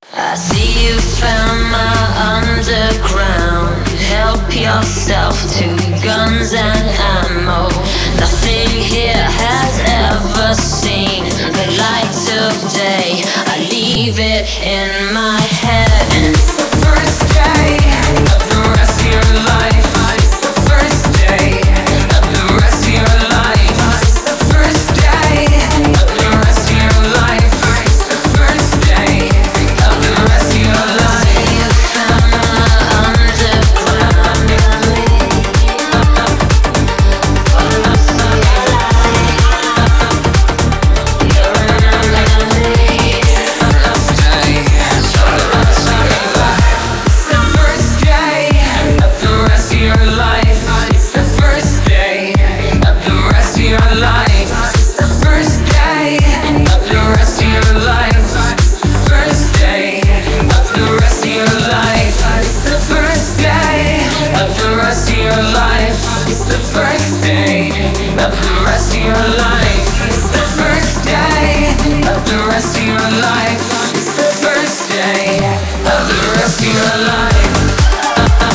I see you found my underground. Help yourself to guns and ammo. Nothing here has ever seen the light of day. I leave it in my head. And it's the first day of the rest of your life. It's the first day of the rest of your life. It's the first day of the rest of your life. It's the first day of the rest of your life. You found my underground. For the rest of your life. You're another me. First day of the rest of your life. It's the first day of the rest of your life. It's the first day of the rest of your life. It's the first day of the rest of your life. First day of the rest of your life. It's the first day of the rest of your life. It's the first day of the rest of your life. It's the first day of the rest of your life. It's the first day of the rest of your life.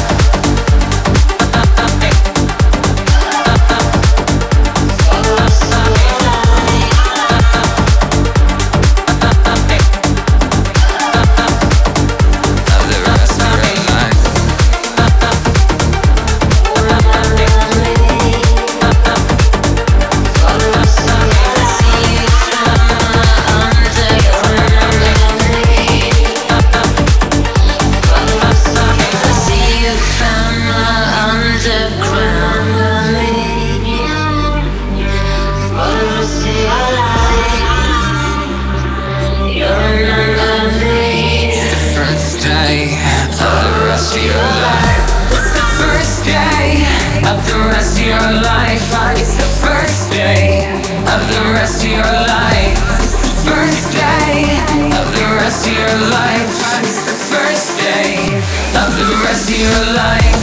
It's the first day of the rest of your life. It's the first day of the rest of your life. It's the first day of the rest of your life.